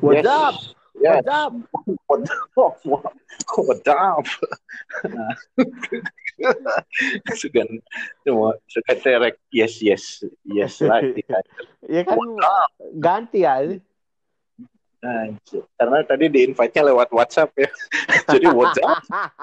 What's Yes. up? Yes. What's up? What's up? Sugan cuma suka terek yes lagi kan. Ya kan ganti ya. Nah, karena tadi di invite-nya lewat WhatsApp ya. Jadi what's up?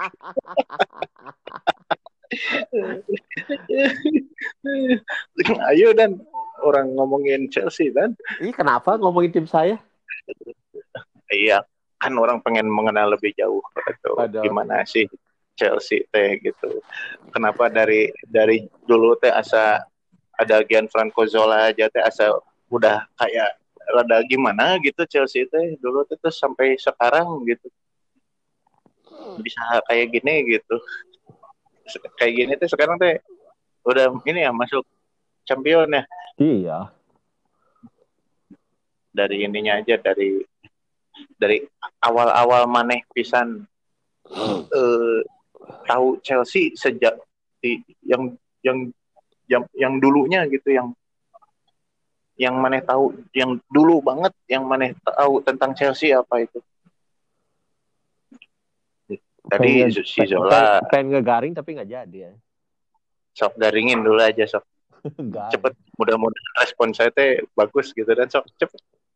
Ayo dan orang ngomongin Chelsea dan. Ih, kenapa ngomongin tim saya? Iya, kan orang pengen mengenal lebih jauh gitu. Gimana sih Chelsea teh gitu. Kenapa dari dulu teh asa ada Gianfranco Zola aja teh asa udah kayak rada gimana gitu Chelsea teh dulu teh terus sampai sekarang gitu. Bisa kayak gini gitu. Kayak gini teh sekarang teh udah ini ya masuk champion ya. Iya. Dari ininya aja dari awal-awal maneh pisan tahu Chelsea sejak yang dulunya gitu yang maneh tahu yang dulu banget yang maneh tahu tentang Chelsea apa itu tadi si Zola pengen ngegaring tapi nggak jadi ya. Sok garingin dulu aja sok cepet mudah-mudahan respon saya teh bagus gitu dan sok cepet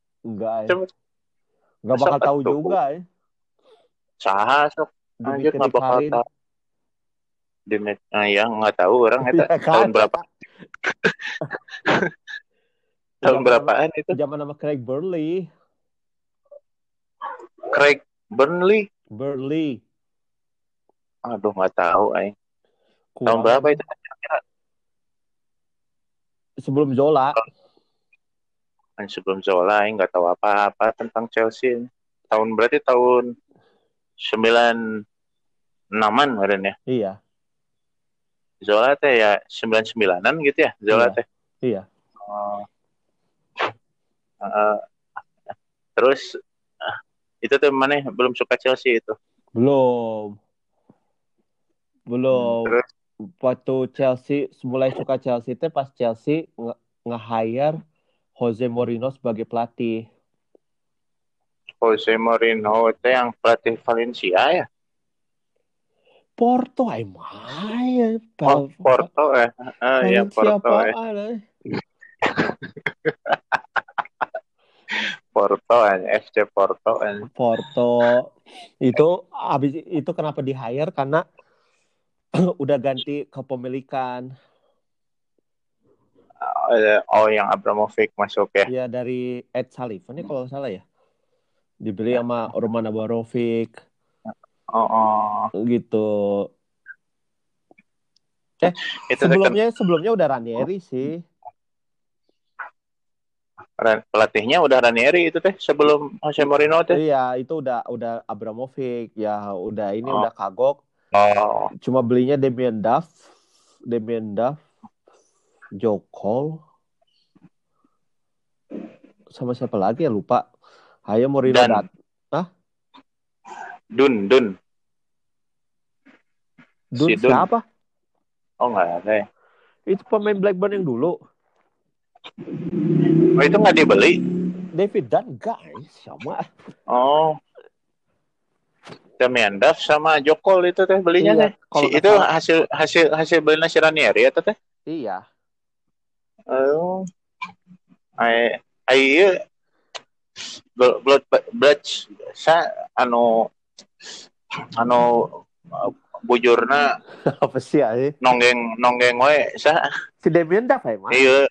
nggak bakal tahu juga ya. Saha sok anjir nggak bakal tahu ya nggak tahu orang itu tahun berapa tahun berapaan itu zaman nama Craig Burnley aduh nggak tahu tahun berapa itu sebelum Zola nggak tahu apa-apa tentang Chelsea berarti tahun 96-an kemarin ya. Iya. Zola teh ya 99-an gitu ya Zola teh. Iya. Terus itu tuh mana belum suka Chelsea itu? Belum. Terus? Waktu Chelsea mulai suka Chelsea itu pas Chelsea nge-hire Jose Mourinho sebagai pelatih. Jose Mourinho itu yang pelatih Valencia ya? Porto Porto ya. Ya Porto ya. Porto FC Porto. Porto itu habis itu kenapa di-hire karena udah ganti kepemilikan. Yang Abramovich masuk ya? Iya dari Ed Sullivan kalau nggak salah ya. Dibeli sama Roman Abramovich. Gitu. Sebelumnya udah Ranieri sih. Pelatihnya udah Ranieri itu teh sebelum Jose Mourinho teh. Iya, itu udah Abramovich ya, udah ini udah kagok. Cuma belinya Damien Duff, Joe Cole. Sama siapa lagi ya lupa. Hayo Mourinho datang. Hah? Dun siapa? Oh nggak ada ya. Itu pemain Blackburn yang dulu. Oh itu nggak dibeli? David Dunn guys sama. Oh. Damien Duff sama Jokol itu teh belinya teh. Itu hasil beli si Ranieri atau teh? Iya. Oh. Blood sa anu bujurna apa sih ya? Nonggeng we sa si Damien Duff ya, Mas? Iya.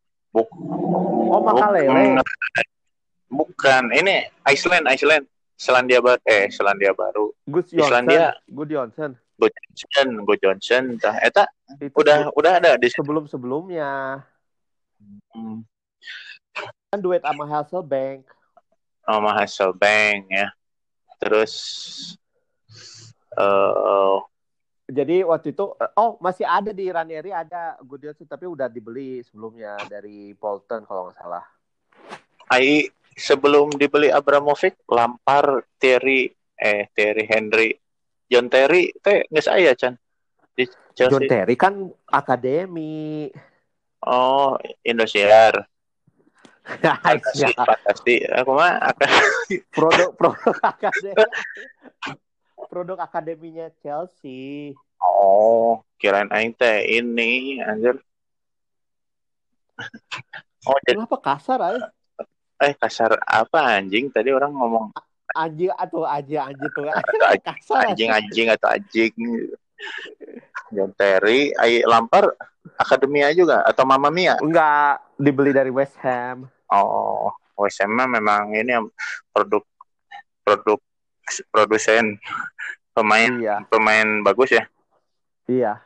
Makalele. Bukan, ini Iceland. Selandia Baru. Good Johnson. Tah eta udah ada di sebelumnya. Kan duet sama Hasselbank. Sama Hasselbank ya. Terus jadi waktu itu masih ada di Ranieri ada Good Johnson tapi udah dibeli sebelumnya dari Bolton kalau nggak salah. Sebelum dibeli Abramovich, Lampard, Thierry Henry, John Terry teh geus aya can di Chelsea. John Terry kan akademi. Oh, Indosiar. Pasti. Aku mah akan produk akademinya Chelsea. Oh, kirain aing teh ini anjir. Oh, Kenapa kasar kasar apa anjing? Tadi orang ngomong anjing atau anjing tuh kasar anjing atau anjing. John Terry, Lampard akademia juga atau Mamma Mia? Enggak, dibeli dari West Ham. Oh, West Ham memang ini produk produsen pemain bagus ya. Iya.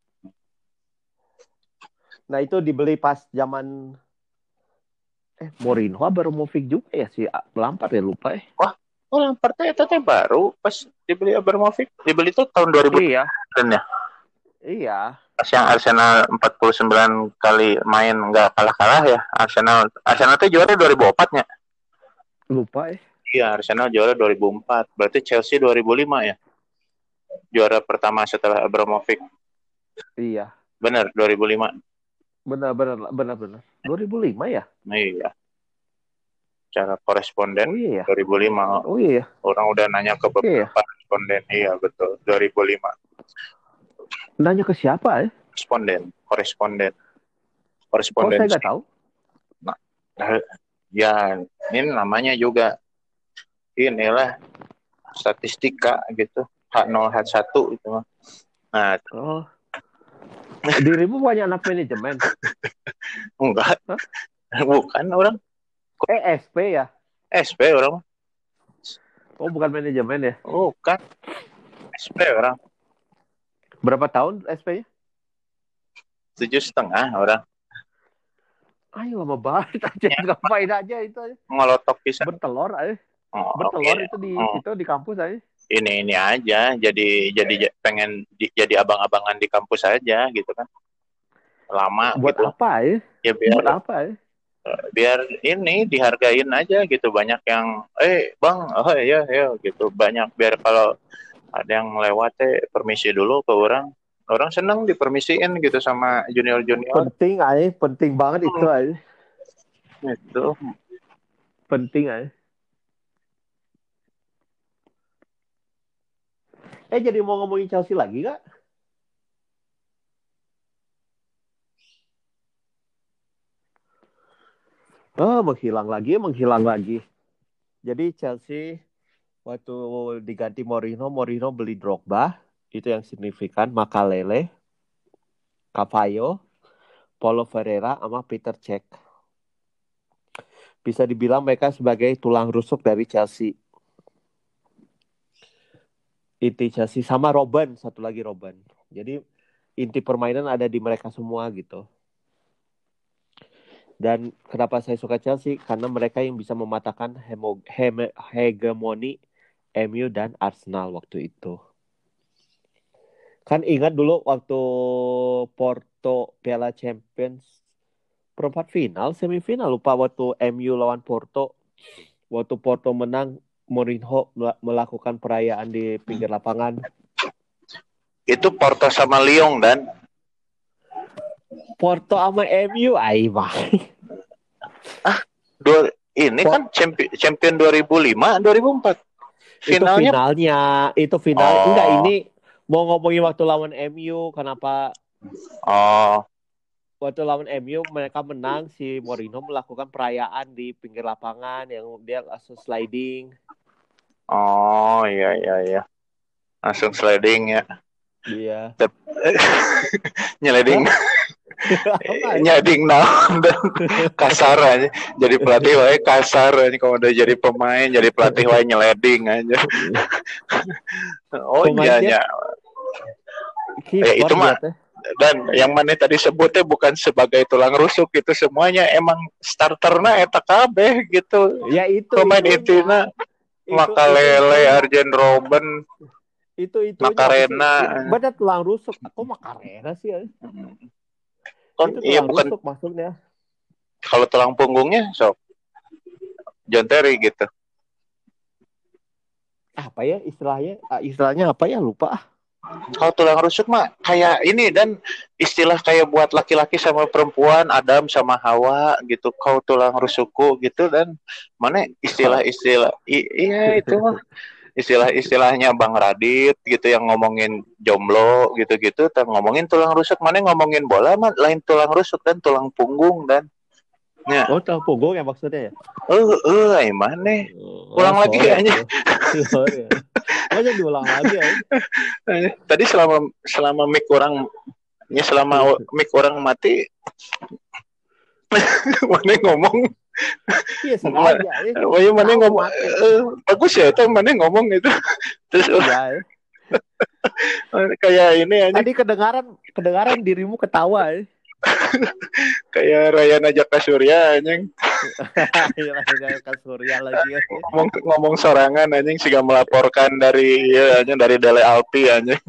Nah itu dibeli pas zaman Mourinho Abramovich juga ya si Lampard ya lupa ya. Wah, Lampard itu baru pas dibeli Abramovich. Dibeli itu tahun 2000 iya. Ya. Iya. Pas yang Arsenal 49 kali main nggak kalah-kalah ya. Arsenal itu juara 2004 ya. Lupa ya. Iya, Arsenal juara 2004. Berarti Chelsea 2005 ya. Juara pertama setelah Abramovich. Iya. Benar, 2005. Benar. 2005 ya? Iya. Cara koresponden 2005. Oh iya. Orang udah nanya ke beberapa koresponden. Iya, betul. 2005. Nanya ke siapa ya? Koresponden. Oh, saya nggak tahu. Nah, ya, ini namanya juga inilah statistika gitu. H0, H1 itu mah. Nah, dirimu banyak anak manajemen? Enggak. Bukan orang. SP ya? SP orang. Oh, bukan manajemen ya? Bukan. SP orang. Berapa tahun SP-nya? 7,5 orang. Ayo lama banget aja. Ngapain aja itu aja. Ngelotok bisa. Bertelur aja. Bertelur itu di situ di kampus aja. Ini aja. Jadi pengen jadi abang-abangan di kampus aja gitu kan. Lama buat gitu. Apa ya? Buat apa ya? Biar ini dihargain aja gitu. Banyak yang bang, oh ya gitu. Banyak biar kalau ada yang lewat permisi dulu ke orang seneng dipermisiin gitu sama junior. Penting banget itu aja. Itu penting aja. Jadi mau ngomongin Chelsea lagi gak? Menghilang lagi. Jadi Chelsea waktu diganti Mourinho beli Drogba, itu yang signifikan, Makalele, Cavallo, Paulo Ferreira, sama Peter Cech. Bisa dibilang mereka sebagai tulang rusuk dari Chelsea. Inti Chelsea sama satu lagi Robben. Jadi inti permainan ada di mereka semua gitu. Dan kenapa saya suka Chelsea? Karena mereka yang bisa mematahkan hegemoni MU dan Arsenal waktu itu. Kan ingat dulu waktu Porto Piala Champions perempat final, semifinal lupa waktu MU lawan Porto. Waktu Porto menang, Mourinho melakukan perayaan di pinggir lapangan. Itu Porto sama Lyon dan Porto sama MU mah. Ini kan champion 2005, 2004. Finalnya. Itu final. Enggak, ini mau ngomongin waktu lawan MU, kenapa? Waktu lawan MU mereka menang, si Mourinho melakukan perayaan di pinggir lapangan yang dia langsung sliding. Oh, iya. Langsung sliding ya. Iya. Nyeleding. Nyading dan kasar aja. Jadi pelatih wae kasar aja, kalau udah jadi pemain jadi pelatih wae nyeleding aja. Iya. Ya itu mah. Dan yang mana tadi sebutnya bukan sebagai tulang rusuk, itu semuanya emang starterna eta kabeh gitu. Ya itu pemain intina Makalele, Arjen Robben, itu Macarena. Bener tulang rusuk. Kok Macarena sih ya? Iya bukan maksudnya. Kalau tulang punggungnya sok John Terry gitu. Apa ya istilahnya? Istilahnya apa ya, lupa. Kalau tulang rusuk mah kayak ini dan istilah kayak buat laki-laki sama perempuan, Adam sama Hawa gitu. Kau tulang rusukku gitu dan mana istilah-istilah iya itu mah istilah-istilahnya Bang Radit gitu yang ngomongin jomblo gitu-gitu, ngomongin tulang rusuk, mana ngomongin bola mah lain tulang rusuk dan tulang punggung dan ya. Oh, tulang punggung ya maksudnya ya? Mana? Ulang lagi kayaknya. Sorry. Aja diulang lagi ya. Tadi selama mic orang mati mana ngomong iya sengaja ya. Mana ngomong bagus ya itu mana ngomong itu terus ya. Kayak ini aja. Tadi kedengaran dirimu ketawa ya. Kayak Rayana Jaka Surya anjing. Rayana Jaka Surya lagi ya. Ngomong sorangan anjing sih melaporkan dari Dele Alpi anjing.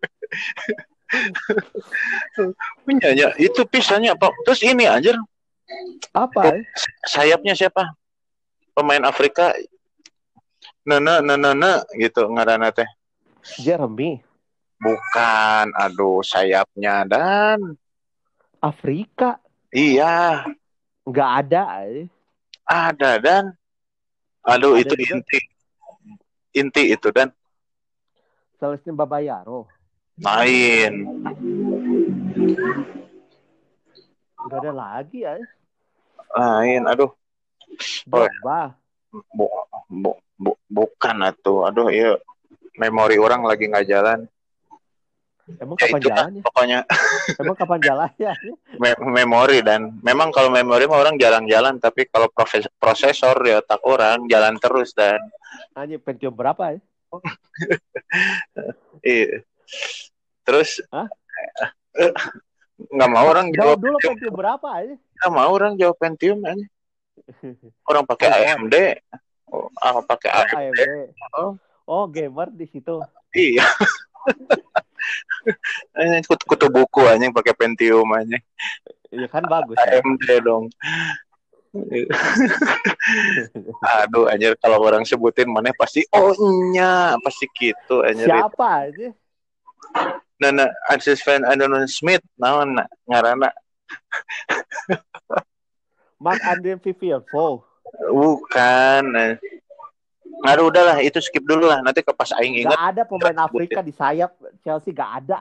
Punyanya itu pisahnya apa? Terus ini anjir. Apa? Sayapnya siapa? Pemain Afrika. Nana gitu ngaranna teh. Jeremy. Bukan, aduh sayapnya dan Afrika. Iya. Nggak ada. Ada dan aduh ada itu juga. Inti itu dan Celestine Babayaro. Main. Udah ada lagi ya. Lain, aduh. Drogba. Bukan atuh. Aduh, iya. Memori orang lagi nggak jalan. Emang kapan jalannya? Pokoknya. Emang kapan jalannya? Memori dan memang kalau memori mah orang jarang-jalan, tapi kalau prosesor di otak orang jalan terus dan. Hanya Pentium berapa ya? Iya. Terus Hah? Nggak mau orang jawab dulu Pentium berapa aja? Nggak mau orang jawab Pentium aja. Orang pakai AMD. Pakai AMD. Oh, gamer di situ. Iya. Kutu buku anjing pakai Pentium anjing. Iya kan bagus. AMD ya? Dong. Aduh anjir kalau orang sebutin mana pasti pasti gitu anjir. Siapa aja? Nah, Arsis fan Adonon Smith naon ngaranna. Mark Andre Viviano. Bukan. Aduh udahlah itu skip dulu lah nanti ke pas aing ingat. Gak ada pemain Afrika di sayap Chelsea gak ada.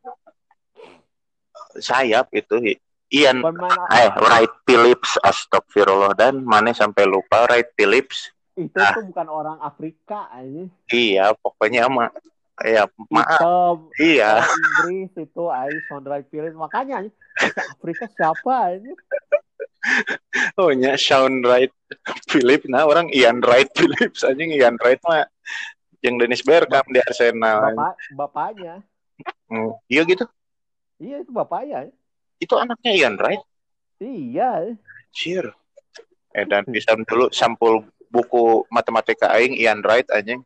Sayap itu Ian Wright Phillips astagfirullah dan mana sampai lupa Wright Phillips. Itu tuh bukan orang Afrika aja. Iya pokoknya maaf. Iya. Inggris itu Sean Wright Phillips makanya Afrika siapa aja? Oh nya Sean Wright Phillips nah orang Ian Wright Phillips anjing Ian Wright mah yang Dennis Bergkamp di Arsenal. Bapaknya. Iya gitu. Iya itu bapaknya. Itu anaknya Ian Wright. Iya. Cheer. Dan bisa dulu sampul buku matematika aing Ian Wright anjing.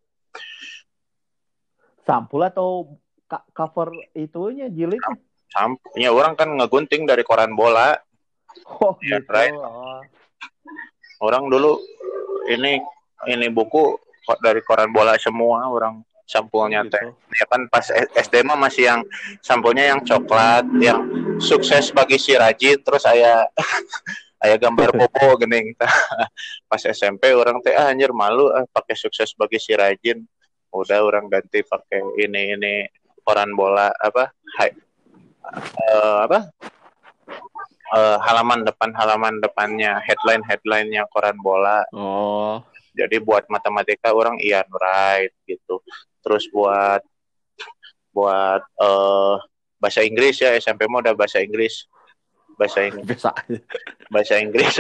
Sampul atau cover itunya jilid? Sampulnya orang kan ngegunting dari koran bola. Oh gitu. Right? Orang dulu ini buku dari koran bola semua orang sampulnya teh. Gitu. Ya kan pas SD mah masih yang sampulnya yang coklat, yang sukses bagi si rajin terus aya gambar popo geuning. Pas SMP orang teh anjir malu pakai sukses bagi si rajin. Udah orang ganti pakai ini koran bola halaman depannya headline-nya koran bola. Oh. Jadi buat matematika orang Ian Wright gitu. Terus buat bahasa Inggris ya SMP mah udah bahasa Inggris. Bahasa Inggris. Bahasa Inggris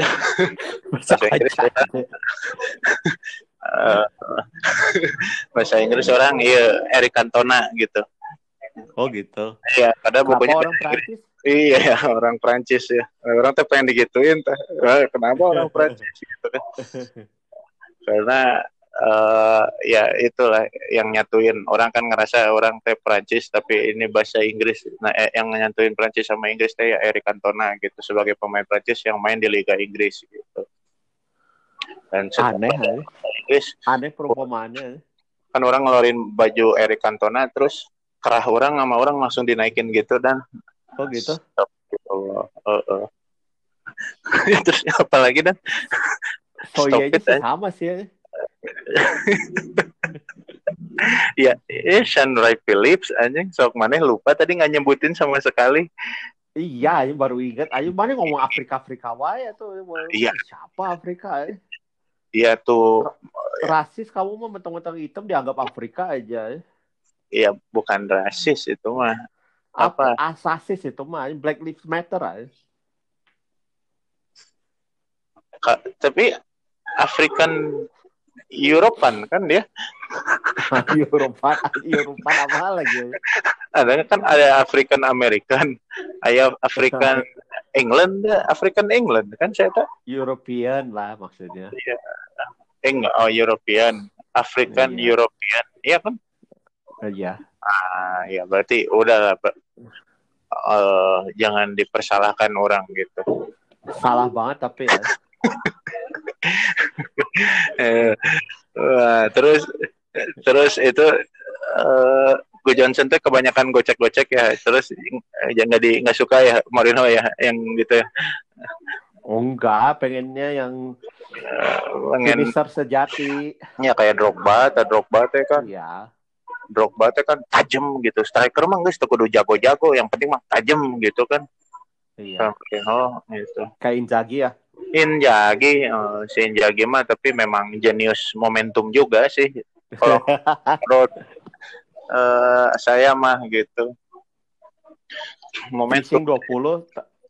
bahasa Inggris orang Eric Cantona gitu. Oh gitu. Iya, ada bukunya orang Prancis. Iya, orang Prancis ya. Orang tuh pengen digituin. Kenapa orang Prancis gitu kan? Karena ya itulah yang nyatuin. Orang kan ngerasa orang teh Prancis tapi ini bahasa Inggris. Nah, yang nyatuin Prancis sama Inggris teh ya Eric Cantona gitu sebagai pemain Prancis yang main di Liga Inggris gitu. Dan aneh perumpamaannya. Kan orang ngeluarin baju Eric Cantona terus kerah orang sama orang langsung dinaikin gitu dan oh gitu. Terus apalagi dan Soya aja sih sama sih ya. Ya, Sean Ray Phillips anjing sok maneh lupa tadi nggak nyebutin sama sekali. Iya, ayo baru ingat. Ayo mana ngomong Afrika wae tuh. Iya. Siapa Afrika? Iya tuh. Rasis kamu mah mentang-mentang hitam dianggap Afrika aja. Iya, bukan rasis itu mah. Apa? Asasis itu mah. Black Lives Matter aja. Tapi African European kan dia? European apa lagi? Ada kan ada African American, ada African England kan saya tahu. European lah maksudnya. Iya. Enggak, European, African iya. European, iya kan? Iya. Ya berarti udah jangan dipersalahkan orang gitu. Salah banget tapi ya. Terus itu Go Johnson tuh kebanyakan gocek-gocek ya. Terus nggak suka ya Mourinho ya yang gitu ya. Oh enggak, pengennya yang finisher sejati. Ya kayak Drogba teh kan. Iya. Drogba teh kan tajam gitu. Striker mah geus teu kudu jago-jago, yang penting mah tajam gitu kan. Iya. Gitu. Kayak Inzaghi ya. Si Inzaghi mah tapi memang jenius momentum juga sih. Kalau menurut saya mah gitu. Momentum 20.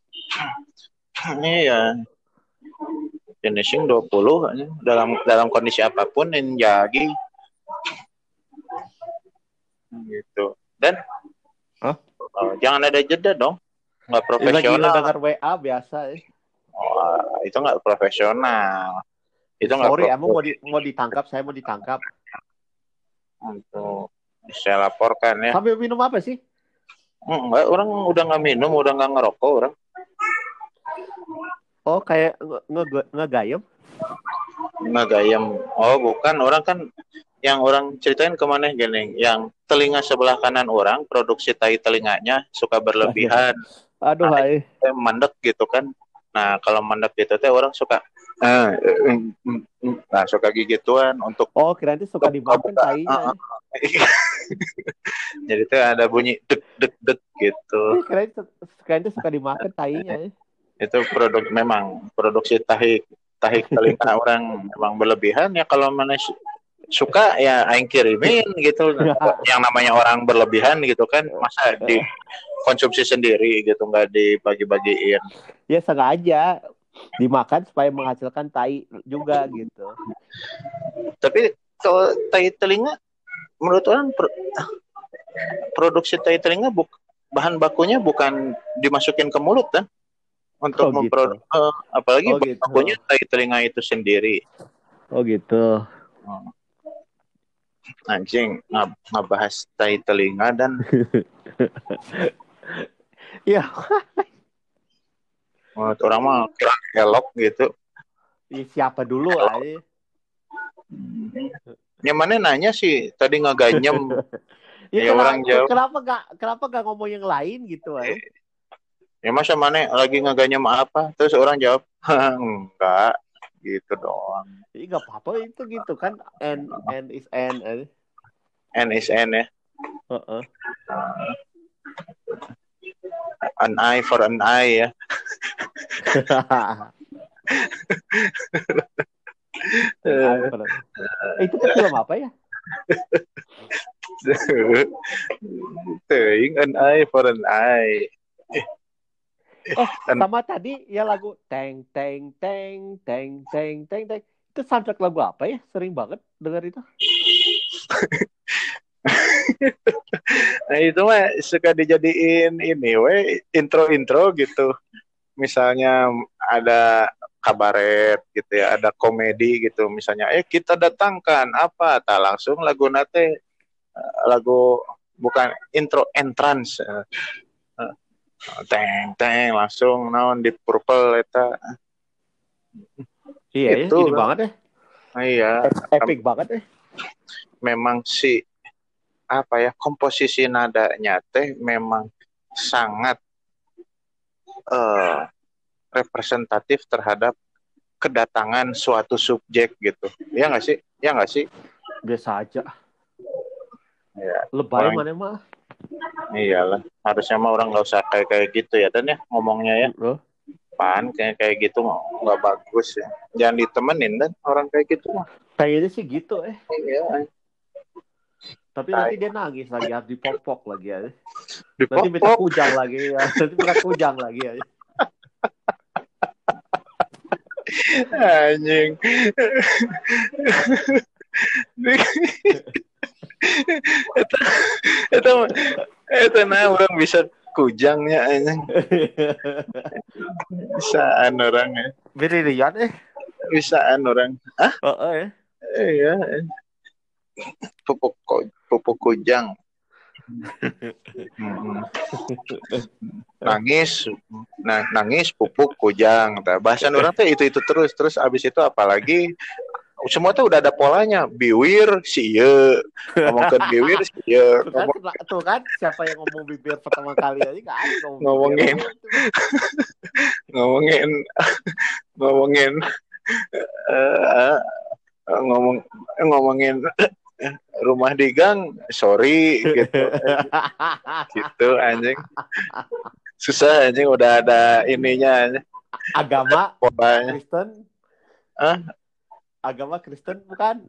Iya. Finishing 20 dalam kondisi apapun Inzaghi gitu. Dan jangan ada jeda dong. Nggak profesional. Lagi dengar WA biasa ya. Itu nggak profesional. Itu sorry, emang mau ditangkap, saya mau ditangkap. Untuk saya laporkan ya. Sambil minum apa sih? Enggak, orang udah nggak minum, udah nggak ngerokok orang. Oh, kayak ngegayem? Ngegayem. Oh, bukan. Orang kan yang orang ceritain kemana gini, yang telinga sebelah kanan orang, produksi tai telinganya suka berlebihan. Aduh, hai. Mandek gitu kan. Nah, kalau mandek gitu teh orang suka suka gigituan untuk kira itu suka dimakan tainya. Jadi tuh ada bunyi dek dek dek gitu. Kira itu suka dimakan tainya. Itu memang produksi tahi telinga orang memang berlebihan ya. Kalau mana suka ya aing kirimin gitu. Yang namanya orang berlebihan gitu kan, masa dikonsumsi sendiri gitu, nggak dibagi-bagiin. Ya sengaja dimakan supaya menghasilkan tai juga gitu. Tapi kalau tai telinga menurut orang produksi tai telinga bahan bakunya bukan dimasukin ke mulut kan? Untuk memproduksi apalagi bahan bakunya tai telinga itu sendiri. Oh gitu. Anjing ngebahas tai telinga dan ya. Menurut orang mah kurang elok gitu. Siapa dulu aja? Yang mana nanya sih tadi ngeganyem. Ya orang jauh. Kenapa gak ngomong yang lain gitu aja? Ya masa mana lagi ngeganyem apa? Terus orang jawab enggak gitu doang. Iya gak apa-apa itu gitu kan. N is N. N is N ya. An eye for an eye ya. Itu kan film apa ya? An eye for an eye. Sama tadi ya lagu teng teng teng teng teng teng teng. Itu soundtrack lagu apa ya? Sering banget dengar itu. Nah itu mah suka dijadiin ini intro gitu. Misalnya ada kabaret gitu ya, ada komedi gitu misalnya, kita datangkan apa, tak langsung lagu nate lagu bukan intro entrance teng teng langsung naon di purple eta. Iya itu ini banget ya. Iya. Epic banget ya. Memang si komposisi nadanya teh memang sangat representatif terhadap kedatangan suatu subjek gitu. Ya nggak sih? Ya nggak sih? Biasa aja. Ya, lebay mana mah. Iyalah, harusnya mah orang nggak usah kayak gitu ya, dan ya ngomongnya ya. Pan kayak gitu nggak bagus ya. Jangan ditemenin dan orang kayak gitu mah. Kayaknya sih gitu Iya. Tapi nanti dia nangis lagi, harus dipopok lagi ya. Dipopok. Nanti minta kujang lagi ya. Nanti minta kujang lagi ya. Anjing. Itu orang bisa kujangnya anjing. Bisaan orang ya. Berlian Bisaan orang. ya. Iya. Pupuk kujang. Nangis pupuk kujang. Bahasan orang teh itu terus abis itu apalagi semua tuh udah ada polanya. Biwir siye. Ngomongkan biwir siye. Tuh kan siapa yang ngomong bibir pertama kali aja nggak ada ngomongin rumah di gang, sorry gitu. Gitu anjing. Susah anjing, udah ada ininya anjing. Agama Kristen. Agama Kristen bukan?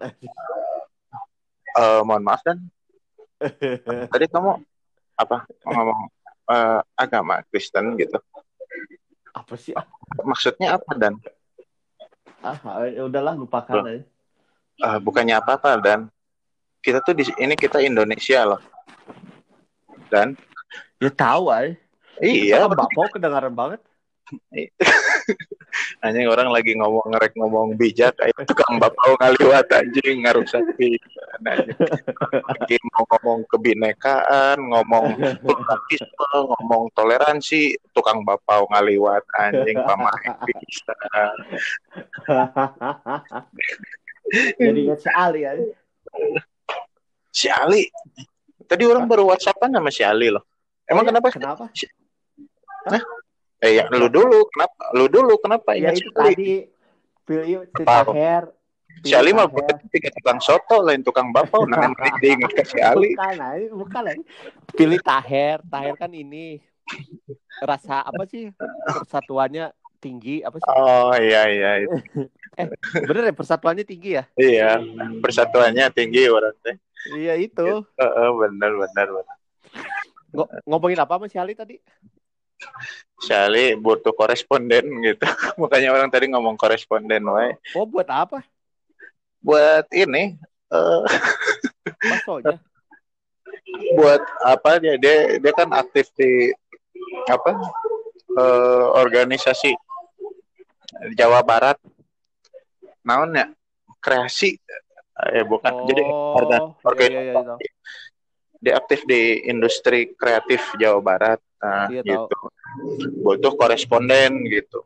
Mohon maaf dan tadi kamu apa ngomong agama Kristen gitu? Apa sih? Maksudnya apa dan? Udahlah lupakan aja. Bukannya apa-apa dan kita tuh kita Indonesia loh. Dan ya tahu aja. Iya. Bapau kedengaran banget. Anjing orang lagi ngomong bijak kayak tukang bapau ngaliwat anjing ngarusak pikiran anjing. Lagi mau ngomong kebinekaan, ngomong pluralisme, ngomong toleransi, tukang bapau ngaliwat anjing pamain bisa. Jadi ingat si Ali ya. Si Ali. Tadi orang baru WhatsAppan sama si Ali loh. Emang kenapa? Ya lu dulu kenapa ya ingat itu tadi pilih Taher. Si Ali mah tiga tukang soto lain tukang bapau nah diingat ke si Ali. Bukan. Pilih Taher kan ini rasa apa sih persatuannya tinggi apa sih? Oh iya itu. Bener ya persatuannya tinggi ya? Iya, persatuannya tinggi orang teh. Iya itu. Benar. Ngomongin apa sama si Ali tadi? Si Ali butuh koresponden gitu. Makanya orang tadi ngomong koresponden wae. Oh, buat apa? Buat ini Baksonya. Buat apa dia kan aktif di organisasi Jawa Barat. Naonnya? Kreasi. Bukan. Jadi organisasi. Dia aktif di industri kreatif Jawa Barat. Nah, gitu. Butuh koresponden gitu.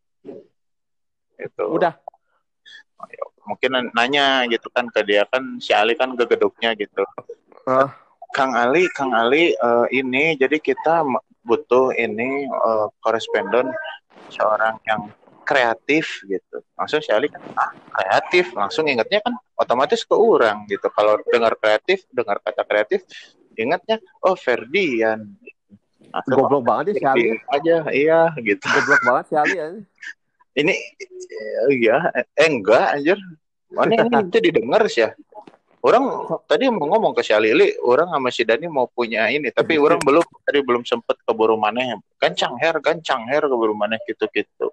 Itu. Udah. Mungkin nanya gitu kan ke dia kan si Ali kan ke gedungnya gitu. Kang Ali ini jadi kita butuh ini koresponden seorang yang kreatif gitu. Langsung si Ali kan kreatif, langsung ingatnya kan otomatis ke orang gitu. Kalau dengar kata kreatif ingatnya Ferdian. Goblok banget ya si Ali aja, iya gitu. Goblok banget si Ali ya. Ini ya enggak anjir. Mana ini itu didengar sih ya. Orang tadi mau ngomong ke si Ali, orang sama si Dani mau punya ini, tapi orang belum sempet keburu maneh. Gancang her keburu maneh gitu.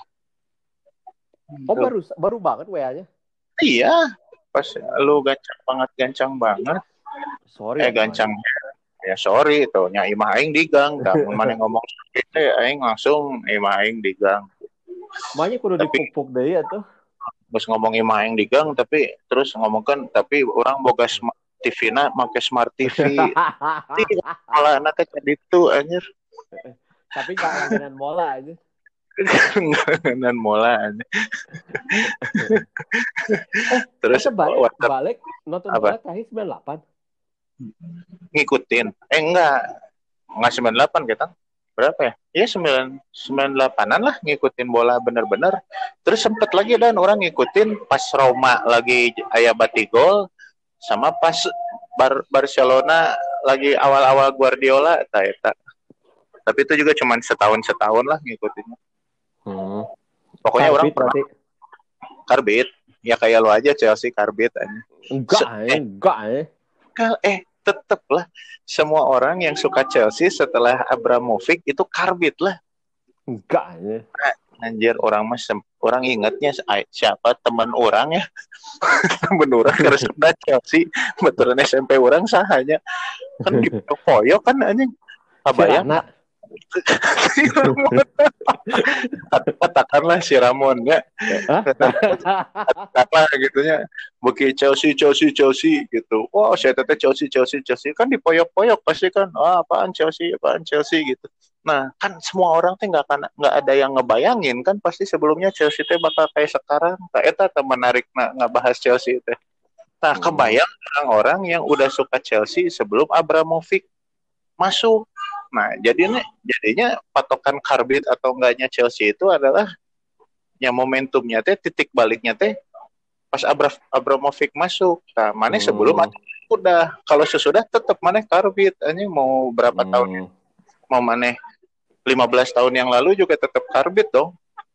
Oh baru banget WA-nya. Iya, pas lu gancang banget. Sorry. Gancang. Ya sorry tuh, nya imah aing di gang, dah mun maneh ngomong gitu aing langsung imah aing di gang. Makanya kudu dipupuk deui atuh. Terus ngomong imah aing di gang tapi terus ngomongkan tapi orang boga TV-na make smart TV. Malah anaknya jadi itu anjir. Tapi enggak langganan mola aja. Langganan mola aja. Terus balik nonton bola terakhir 98. ngikutin. Enggak 98 kita. Berapa ya? Iya 98-an lah ngikutin bola bener-bener. Terus sempet lagi dan orang ngikutin pas Roma lagi aya Batigol sama pas Barcelona lagi awal-awal Guardiola eta. Tapi itu juga cuma setahun lah ngikutinnya. Pokoknya Karbit orang berarti. Karbit. Ya kayak lo aja Chelsea Karbit aja. Enggak. Tetep lah semua orang yang suka Chelsea setelah Abramovich itu Karbit lah. Enggak ya. Anjir orang ingatnya siapa teman orang ya. Teman orang karena suka Chelsea betulan SMP orang sahanya kan di Poyo kan anjing. Kabayang si Ramon. Katakanlah si Ramon ya. Apa gitunya. Buki Chelsea gitu. Wow, saya teteh Chelsea kan di poyok-poyok pasti kan. Apaan Chelsea gitu. Nah, kan semua orang teh nggak ada yang ngebayangin kan pasti sebelumnya Chelsea teh bakal kayak sekarang. Eta teh menarik nggak bahas Chelsea teh. Nah, kebayang orang-orang yang udah suka Chelsea sebelum Abramovich masuk. Nah, jadinya patokan Karbit atau enggaknya Chelsea itu adalah yang momentumnya teh titik baliknya teh pas Abramovich masuk. Nah, mana sebelum udah kalau sesudah tetap mana Karbit. Ini mau berapa tahun? Mau mana 15 tahun yang lalu juga tetap Karbit dong.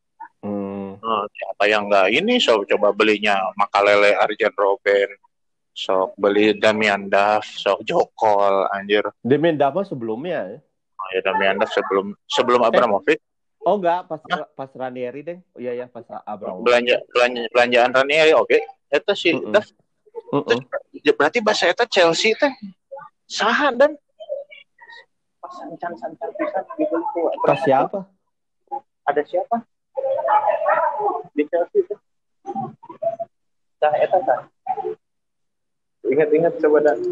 Siapa yang enggak ini coba belinya Makalele, Arjen Robben. Sok beli Damian Duff, sok Jokol, anjir. Damian Duff sebelumnya ya? Oh ya Damian Duff sebelum Abramovich. Oh enggak, pas Ranieri deh. Oh iya pas Abramovich. Belanjaan Ranieri oke. Eta sih Duff. Berarti bahasa eta Chelsea teh saha dan pas siapa? Ada siapa? Di Chelsea teh. Tah eta tah. Ingat coba dah.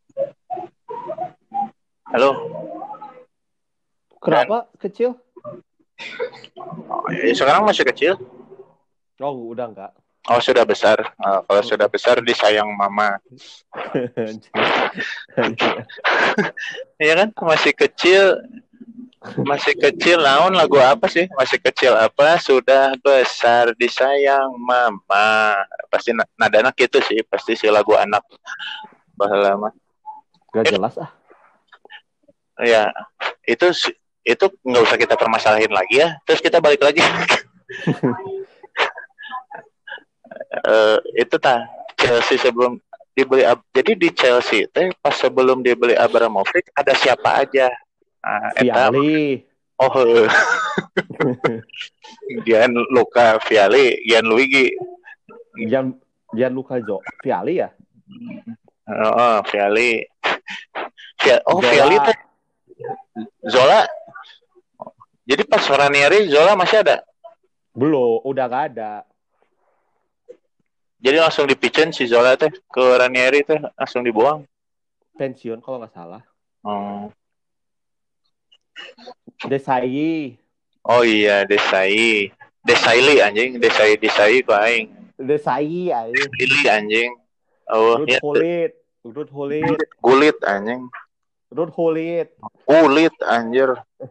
Halo. Kenapa kecil? Sekarang masih kecil. Oh, udah enggak. Oh, sudah besar. Kalau sudah besar disayang mama. Iya kan? Masih kecil naon lagu apa sih? Masih kecil apa? Sudah besar disayang mama. Pasti nadana gitu sih, pasti si lagu anak baheula mah. Gak jelas Ya, itu nggak usah kita permasalahin lagi ya. Terus kita balik lagi. Itu Chelsea sebelum dibeli. Jadi di Chelsea teh pas sebelum dibeli Abramovich ada siapa aja? Viali. Gianluca Vialli, Gianluigi. Gianluca Vialli ya? Vialli. Vialli teh. Zola. Jadi pas Ranieri Zola masih ada? Belum, udah gak ada. Jadi langsung dipicen si Zola teh ke Ranieri teh langsung dibuang. Pensiun kalau nggak salah. Desai. Oh iya Desailly anjing, Desai ku aing. Desai anjing. Desai anjing. Oh iya. Gulit anjing. Kulit anjir.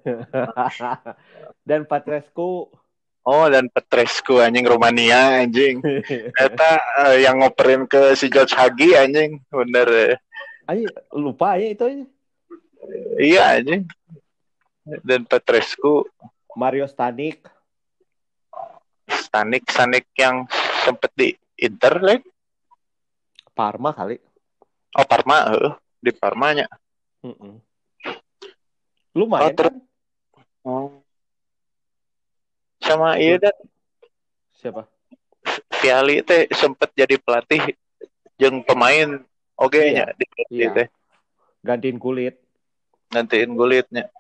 Dan Petrescu. Oh, dan Petrescu anjing Romania anjing. Eta yang ngoperin ke si George Hagi anjing, bener. Anjing lupa aja itu aja. Iya anjing. Dan Petrescu. Mario Stanik yang sempet di Inter like. Parma kali. Oh Parma, di Parmanya. Lumayan kan? Sama iya dan siapa? Vialli teh sempet jadi pelatih jeung pemain nya di pelatih teh. Gantiin Gulitnya.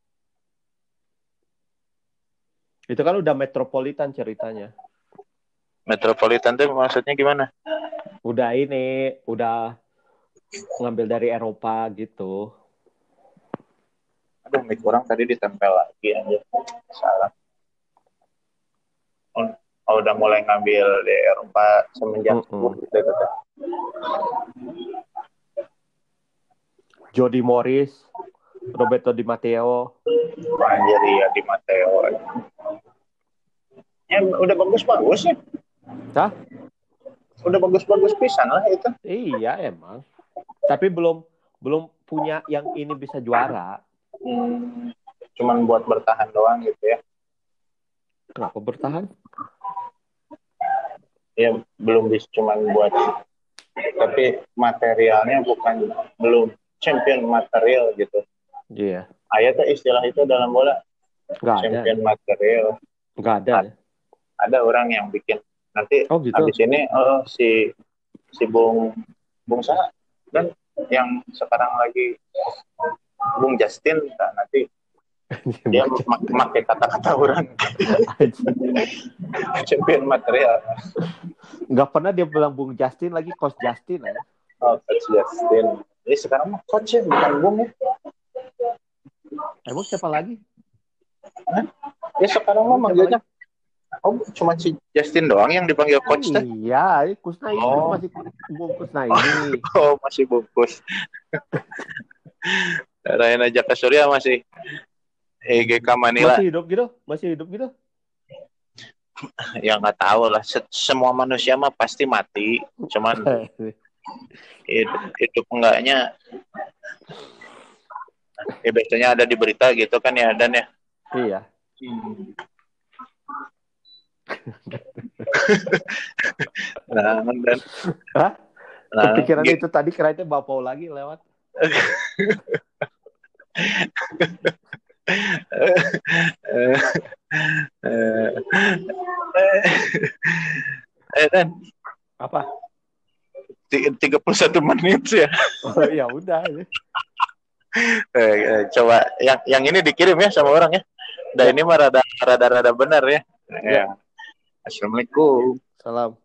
Itu kan udah Metropolitan ceritanya. Metropolitan tuh maksudnya gimana? Udah ngambil dari Eropa gitu. Aduh, mic orang tadi ditempel lagi aja. Salah. Udah mulai ngambil di Eropa semenjak Jody Morris, Roberto Di Matteo. Anjir ya Di Matteo. Ya udah bagus-bagus ya. Hah? Udah bagus-bagus pisan lah itu. Iya emang. Tapi belum punya yang ini bisa juara. Cuman buat bertahan doang gitu ya. Kenapa bertahan? Ya belum bisa cuman buat, tapi materialnya belum champion material gitu. Iya. Ada tuh istilah itu dalam bola. Nggak champion ada. material. Nggak ada. Ada orang yang bikin. Nanti gitu. habis ini si Bung Sa dan yang sekarang lagi Bung Justin nanti dia pakai kata-kata orang champion material. Nggak pernah dia bilang Bung Justin lagi, Coach Justin ya. Oh, Coach Justin. Jadi sekarang mah coach ya, bukan Bung ya. Emang siapa lagi? Hah? Ya sekarang mah manggilnya. Oh, cuma si Justin doang yang dipanggil coach teh? Iya, Kusnaini masih Bung Kusnaini. Oh, masih bungkus. Raina Jaka Surya masih EGK Manila. Masih hidup gitu? Ya nggak tahu lah. Semua manusia mah pasti mati. Cuman hidup enggaknya. Ya biasanya ada di berita gitu kan ya, Dan ya. Iya. Dan. Hah? Kepikiran itu tadi kirain Bapak lagi lewat. Dan apa? 31 menit ya. Oh ya udah. Coba yang ini dikirim ya sama orang ya. Dan ini mah rada benar ya. Ya. Assalamualaikum. Salam.